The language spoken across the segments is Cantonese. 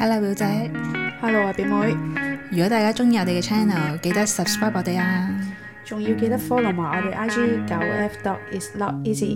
Hello 表姐 Hello 啊表妹， 如果大家中意我哋嘅 channel， 記得 subscribe 我哋啊， 仲要記得 follow 埋我哋 IG 9F.is.not.easy。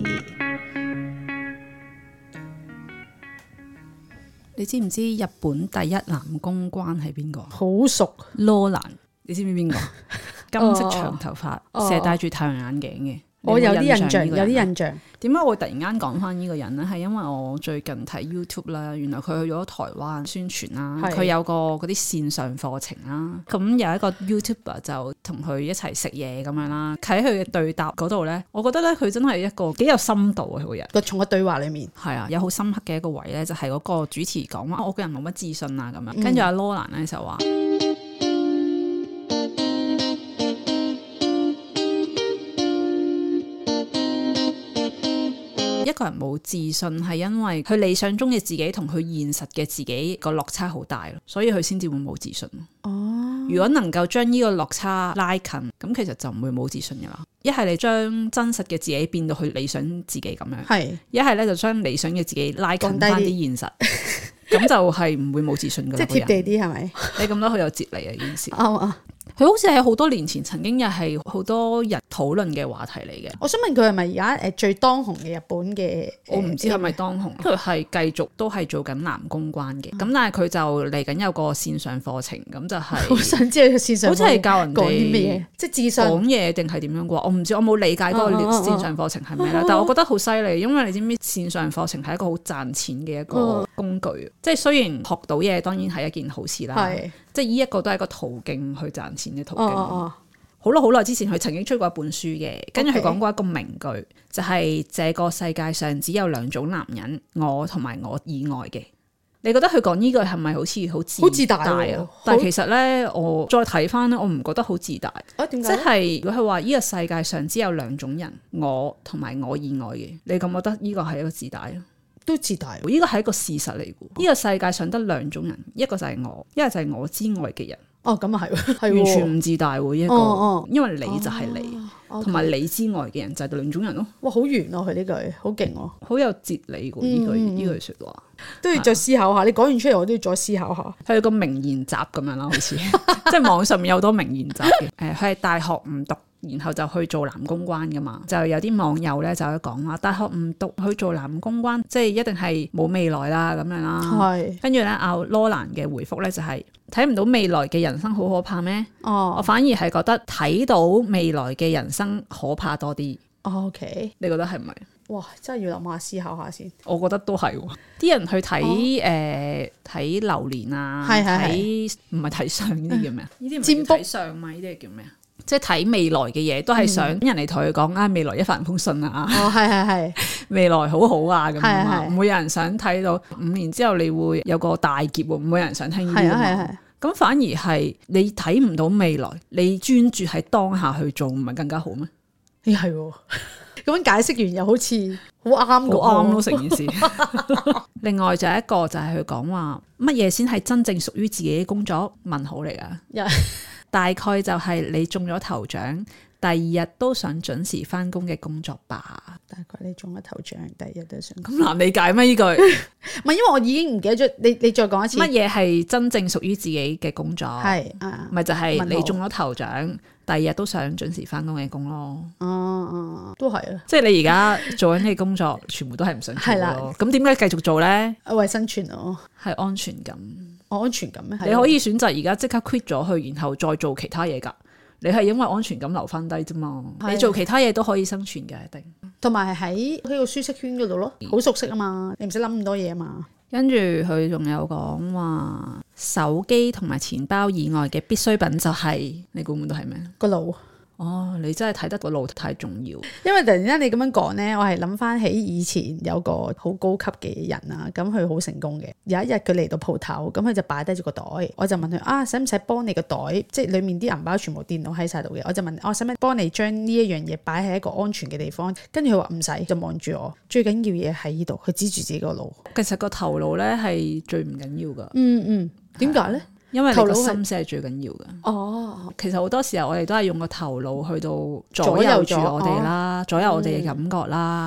你知唔知日本第一男公關係邊個？ 好熟， 羅蘭，你知唔知邊個？金色長頭髮，成日戴住太陽眼鏡嘅。 我有啲印象，有啲印象。 點解我會突然間講翻呢個人呢？係因為我最近睇 YouTube 啦，原來佢去咗台灣宣傳啦，佢有個嗰啲線上課程啦。咁有一個 YouTuber 就同佢一齊食嘢咁樣啦。喺佢嘅對答嗰度呢，我覺得咧佢真係一個幾有深度嘅個人。 從個對話裡面係啊，有好深刻嘅一個位呢，就係嗰個主持講話我個人冇乜自信啊咁樣。跟住阿羅蘭呢就話。一個人冇自信係因為佢理想中嘅自己同佢現實嘅自己個落差好大咯，所以佢先至會冇自信。哦，如果能夠將呢個落差拉近，咁其實就唔會冇自信噶啦。一係你將真實嘅自己變到去理想自己咁樣，係一係咧就將理想嘅自己拉近翻啲現實，咁就係唔會冇自信噶啦。即係貼地啲係咪？你咁多好有哲理啊！呢件事佢好似係好多年前曾經又係好多人討論嘅話題嚟嘅。我想問佢係咪而家最當紅嘅日本嘅？我唔知係咪當紅。佢係繼續都係做緊男公關嘅。咁但係佢就嚟緊有個線上課程，咁就係好想知佢線上好似係教人哋講啲咩嘢，即係自信講嘢定係點樣啩？我唔知，我冇理解嗰個線上課程係咩啦。但係我覺得好犀利，因為你知唔知線上課程係一個好賺錢嘅一個工具。即係雖然學到嘢當然係一件好事啦，即係呢一個都係一個途徑去賺錢嘅途徑。好耐之前佢曾經出過一本書嘅，跟住佢講過一個名句，就係這個世界上只有兩種男人，我同埋我以外嘅。你覺得佢講呢句係咪好似好自大啊？但係其實呢，我再睇翻呢，我唔覺得好自大。點解？即係如果佢話呢個世界上只有兩種人，我同埋我以外嘅，你覺唔覺得呢個係一個自大啊？都自大，呢個係一個事實嚟嘅。呢個世界上得兩種人，一個就係我，一個就係我之外嘅人。咁啊係，完全唔自大喎呢一個，因為你就係你，同埋你之外嘅人就係兩種人咯。哇，好圓啊佢呢句，好勁喎，好有哲理喎呢句說話，都要再思考下。你講完出嚟，我都要再思考下。佢有個名言集咁樣啦，好似即係網上面有好多名言集嘅。佢係大學唔讀，然後就去做男公關噶嘛，就有啲網友咧就去講話，大學唔讀去做男公關，即係一定係冇未來啦咁樣啦。係，跟住咧阿羅蘭嘅回覆咧就係睇唔到未來嘅人生好可怕咩？我反而係覺得睇到未來嘅人生可怕多啲。OK， 你覺得係唔係？哇，真係要諗下思考下先。我覺得都係，啲人去睇睇流年啊，睇唔係睇相呢啲叫咩啊？呢啲唔係睇相嘛？呢啲係叫咩啊？即係睇未來嘅嘢，都係想人嚟同佢講未來一帆風順啊！係未來好好啊咁啊！唔會有人想睇到5年之後你會有個大劫喎，唔會有人想聽呢啲啊！咁反而係你睇唔到未來，你專注喺當下去做，唔係更加好咩？係喎，咁樣解釋完又好似好啱，好啱咯成件事。另外就一個就係佢講話乜嘢先係真正屬於自己嘅工作？問號嚟㗎。大概就係你中咗頭獎，第二日都想準時翻工嘅工作吧。大概你中咗頭獎，第二日都想。咁難理解咩呢句？唔係，因為我已經唔記得咗。你再講一次。乜嘢係真正屬於自己嘅工作？係咪就係你中咗頭獎，第二日都想準時翻工嘅工咯？都係啊。即係你而家做緊嘅工作，全部都係唔想做咯。咁點解繼續做咧？為生存咯，係安全感。安全感咩？你可以選擇而家即刻 quit 咗佢，然後再做其他嘢噶。你係因為安全感留翻低啫嘛。你做其他嘢都可以生存嘅，一定。同埋喺個舒適圈嗰度咯，好熟悉啊嘛，你唔使諗咁多嘢啊嘛。跟住佢仲有講話，手機同埋錢包以外嘅必需品就係，你估唔估到係咩？個腦。你真係睇得個腦太重要。因為突然間你咁樣講呢，我係諗翻起以前有個好高級嘅人啊，咁佢好成功嘅。有一日佢嚟到鋪頭，咁佢就擺低咗個袋，我就問佢使唔使幫你個袋，即係裡面啲銀包全部電腦喺晒度嘅，我就問使唔使幫你將呢一樣嘢擺喺一個安全嘅地方，跟住佢話唔使，就望住我。最緊要嘢喺呢度，佢指住自己個腦。其實個頭腦呢係最唔緊要噶。點解呢？因為你個心思係最緊要嘅。其實好多時候我哋都係用個頭腦去到左右住我哋啦，左右我哋嘅感覺啦，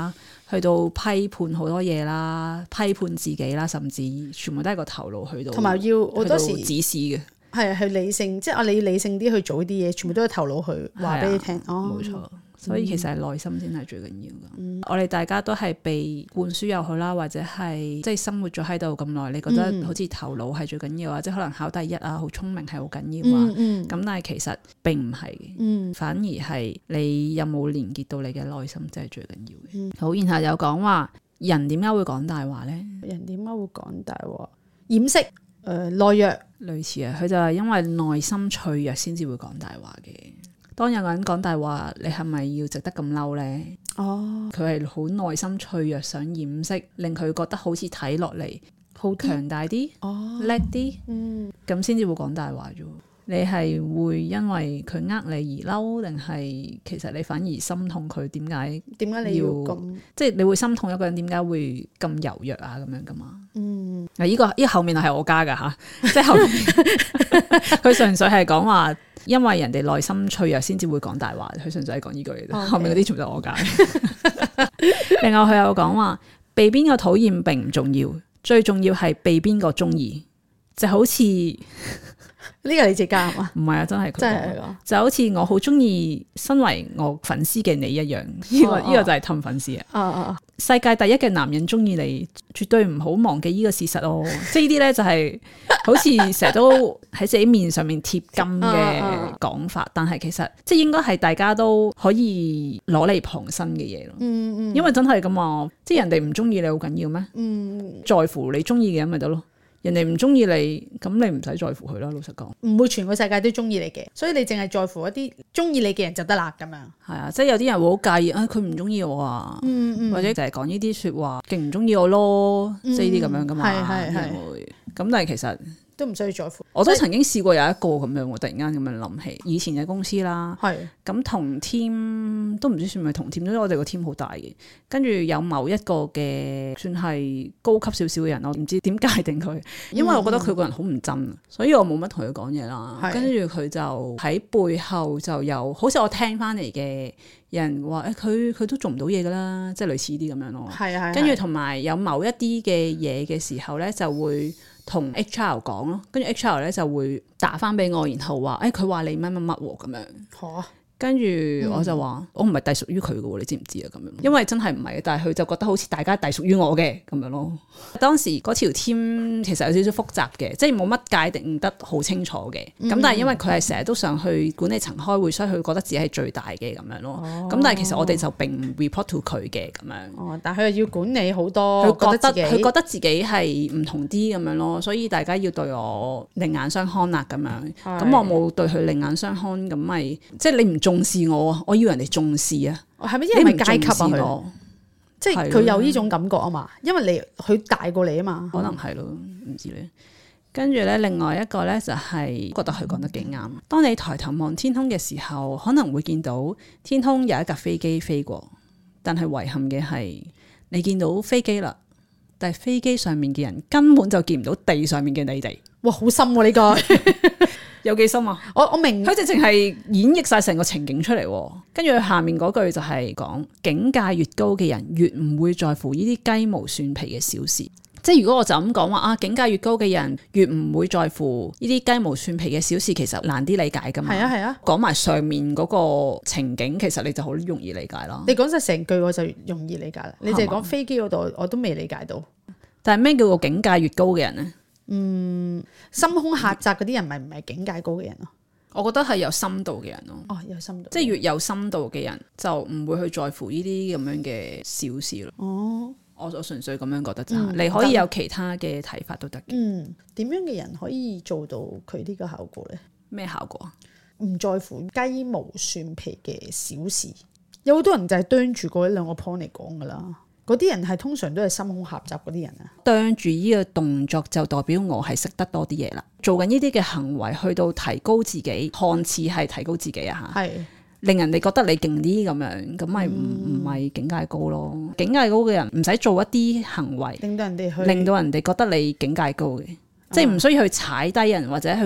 去到批判好多嘢啦，批判自己啦，甚至全部都係個頭腦去到， 同埋要好多時指示嘅，係去理性，即係你理性啲去做啲嘢，全部都係頭腦去話俾你聽。 冇錯。所以其實係內心先係最緊要㗎。我哋大家都係被灌輸又好啦，或者係即係生活咗喺度咁耐，你覺得好似頭腦係最緊要啊，即係可能考第一啊，好聰明係好緊要啊。咁但係其實並唔係嘅，反而係你有冇連結到你嘅內心，即係最緊要嘅。好，然後有講話人點解會講大話呢？ 人點解會講大話？掩飾懦弱，類似啊。佢就係因為內心脆弱先至會講大話嘅。當有個人講大話，你係咪要值得咁嬲呢？佢係好內心脆弱，想掩飾，令佢覺得好似睇落嚟好強大啲，叻啲，咁先至會講大話啫。你係會因為佢呃你而嬲，定係其實你反而心痛佢？點解你要咁？即係你會心痛一個人點解會咁柔弱啊？咁樣噶嘛？嗱，呢個後面係我加噶吓，即係後面佢純粹係講話。因為人哋內心脆弱先至會講大話，佢純粹係講呢句嘅啫。後面嗰啲全部都係我解。另外佢有講話，被邊個討厭並唔重要，最重要係被邊個中意，就好似呢個你自己加嘛？ 唔係啊，真係佢講，就好似我好中意身為我粉絲嘅你一樣。呢個就係氹粉絲啊！世界第一嘅男人中意你，絕對唔好忘記呢個事實哦。即係呢啲咧就係好似成日都喺自己面上面貼金嘅講法，但係其實即係應該係大家都可以攞嚟旁身嘅嘢咯。因為真係咁啊，即係人哋唔中意你好緊要咩？在乎你中意嘅人咪得咯。人哋唔中意你，咁你唔使在乎佢啦。老實講， 唔會全個世界都中意你嘅，所以你淨係在乎一啲中意你嘅人就得啦。咁樣係啊，即係有啲人會好介意啊，佢唔中意我啊，或者就係講呢啲說話，勁唔中意我咯，即係呢啲咁樣噶嘛。係會咁，但係其實都唔需要在乎。 我都曾經試過有一個咁樣，我突然間咁樣諗起以前嘅公司啦，咁同 team 都唔知算唔係同 team，因為我哋個 team 好大嘅，跟住有某一個嘅算係高級少少嘅人，我唔知點界定佢，因為我覺得佢個人好唔真，所以我冇乜同佢講嘢啦。跟住佢就喺背後就有，好似我聽翻嚟嘅人話，佢都做唔到嘢噶啦，即係類似啲咁樣咯。跟住同埋有某一啲嘅嘢嘅時候咧，就會同 HR 講咯，跟住 HR 咧就會打翻俾我，然後話佢話你乜乜乜咁樣。跟住我就話我唔係隸屬於佢嘅，你知唔知啊？咁樣，因為真係唔係，但係佢就覺得好似大家隸屬於我嘅咁樣咯。當時嗰條 team 其實有少少複雜嘅，即係冇乜界定得好清楚嘅。咁但係因為佢係成日都上去管理層開會，所以佢覺得自己係最大嘅咁樣咯。咁但係其實我哋就並唔 report to 佢嘅咁樣。但係佢又要管理好多，佢覺得自己係唔同啲咁樣咯，所以大家要對我另眼相看啦咁樣。咁我冇對佢另眼相看，咁咪即係你唔重視我啊！我要人哋重視啊！係咪因為階級啊？佢即係佢有呢種感覺啊嘛？因為佢大過你啊嘛？可能係咯，唔知咧。跟住咧，另外一個咧就係覺得佢講得幾啱。當你抬頭望天空嘅時候，可能會見到天空有一架飛機飛過，但係遺憾嘅係你見到飛機啦，但係飛機上面嘅人根本就見唔到地上面嘅你哋。哇，好深喎呢個！有幾深啊？我明，佢直情係演繹晒成個情景出嚟，跟住佢下面嗰句就係講境界越高嘅人越唔會在乎呢啲雞毛蒜皮嘅小事。即係如果我就咁講話境界越高嘅人越唔會在乎呢啲雞毛蒜皮嘅小事，其實難啲理解噶嘛。係啊。講埋上面嗰個情景，其實你就好容易理解啦。你講晒成句我就容易理解啦。你淨係講飛機嗰度我都未理解到。但係咩叫做境界越高嘅人呢？心胸狹窄嗰啲人咪唔係境界高嘅人咯？我覺得係有深度嘅人咯。有深度，即係越有深度嘅人就唔會去在乎呢啲咁樣嘅小事咯。我純粹咁樣覺得咋。你可以有其他嘅睇法都得嘅。點樣嘅人可以做到佢呢個效果呢？咩效果？唔在乎雞毛蒜皮嘅小事。有好多人就係啄住嗰一兩個 point 嚟講噶啦。嗰啲人係通常都係心胸狹窄嗰啲人啊，啄住呢個動作就代表我係識得多啲嘢啦，做緊呢啲嘅行為去到提高自己，看似係提高自己啊嚇，係令人哋覺得你勁啲咁樣，咁咪唔係境界高咯。境界高嘅人唔使做一啲行為，令到人哋覺得你境界高嘅，即係唔需要去踩低人或者去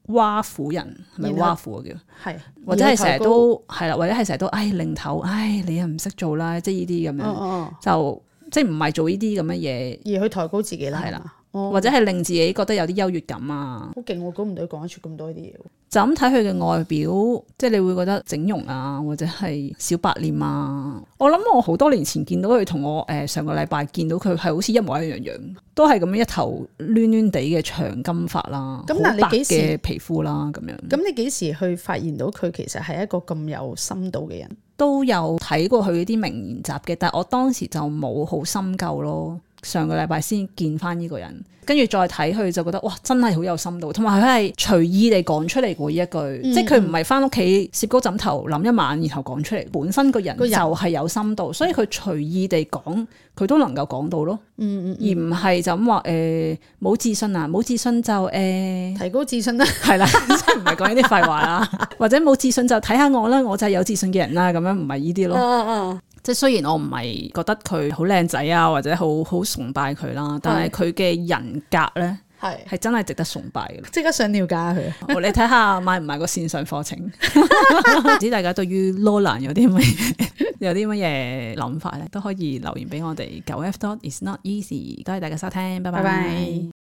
挖苦人，係咪挖苦叫？係，或者係成日都係啦，或者係成日都擰頭，你又唔識做啦，即係呢啲咁樣，就即係唔係做呢啲咁嘅嘢， 而去抬高自己啦，係啦。 或者係令自己覺得有啲優越感啊， 好勁！我估唔到佢講得出咁多呢啲嘢。 就咁睇佢嘅外表，即係你會覺得整容啊，或者係小白臉啊。我諗我好多年前見到佢，同我上個禮拜見到佢係好似一模一樣，都係咁樣一頭攣攣地嘅長金髮啦，好白嘅皮膚啦咁樣。 咁你幾時去發現到佢其實係一個咁有深度嘅人？ 都有睇過佢啲名言集嘅，但係我當時就冇好深究咯。上個禮拜先見翻呢個人，跟住再睇佢就覺得哇，真係好有深度，同埋佢係隨意地講出嚟嗰一句，即係佢唔係翻屋企攝高枕頭諗一晚然後講出嚟，本身個人就係有深度，所以佢隨意地講，佢都能夠講到咯。而唔係就咁話冇自信啊，冇自信就提高自信啦， 係啦，即係唔係講呢啲廢話啦，或者冇自信就睇下我啦，我就係有自信嘅人啦，咁樣唔係呢啲咯。即係雖然我唔係覺得佢好靚仔啊，或者好崇拜佢啦，但係佢嘅人格咧係真係值得崇拜嘅。 即刻上了解佢。 你睇下買唔買個線上課程？唔知大家對於 Lolan 有啲乜嘢諗法咧，都可以留言俾我哋。9F dot is not easy。多謝大家收聽，拜拜。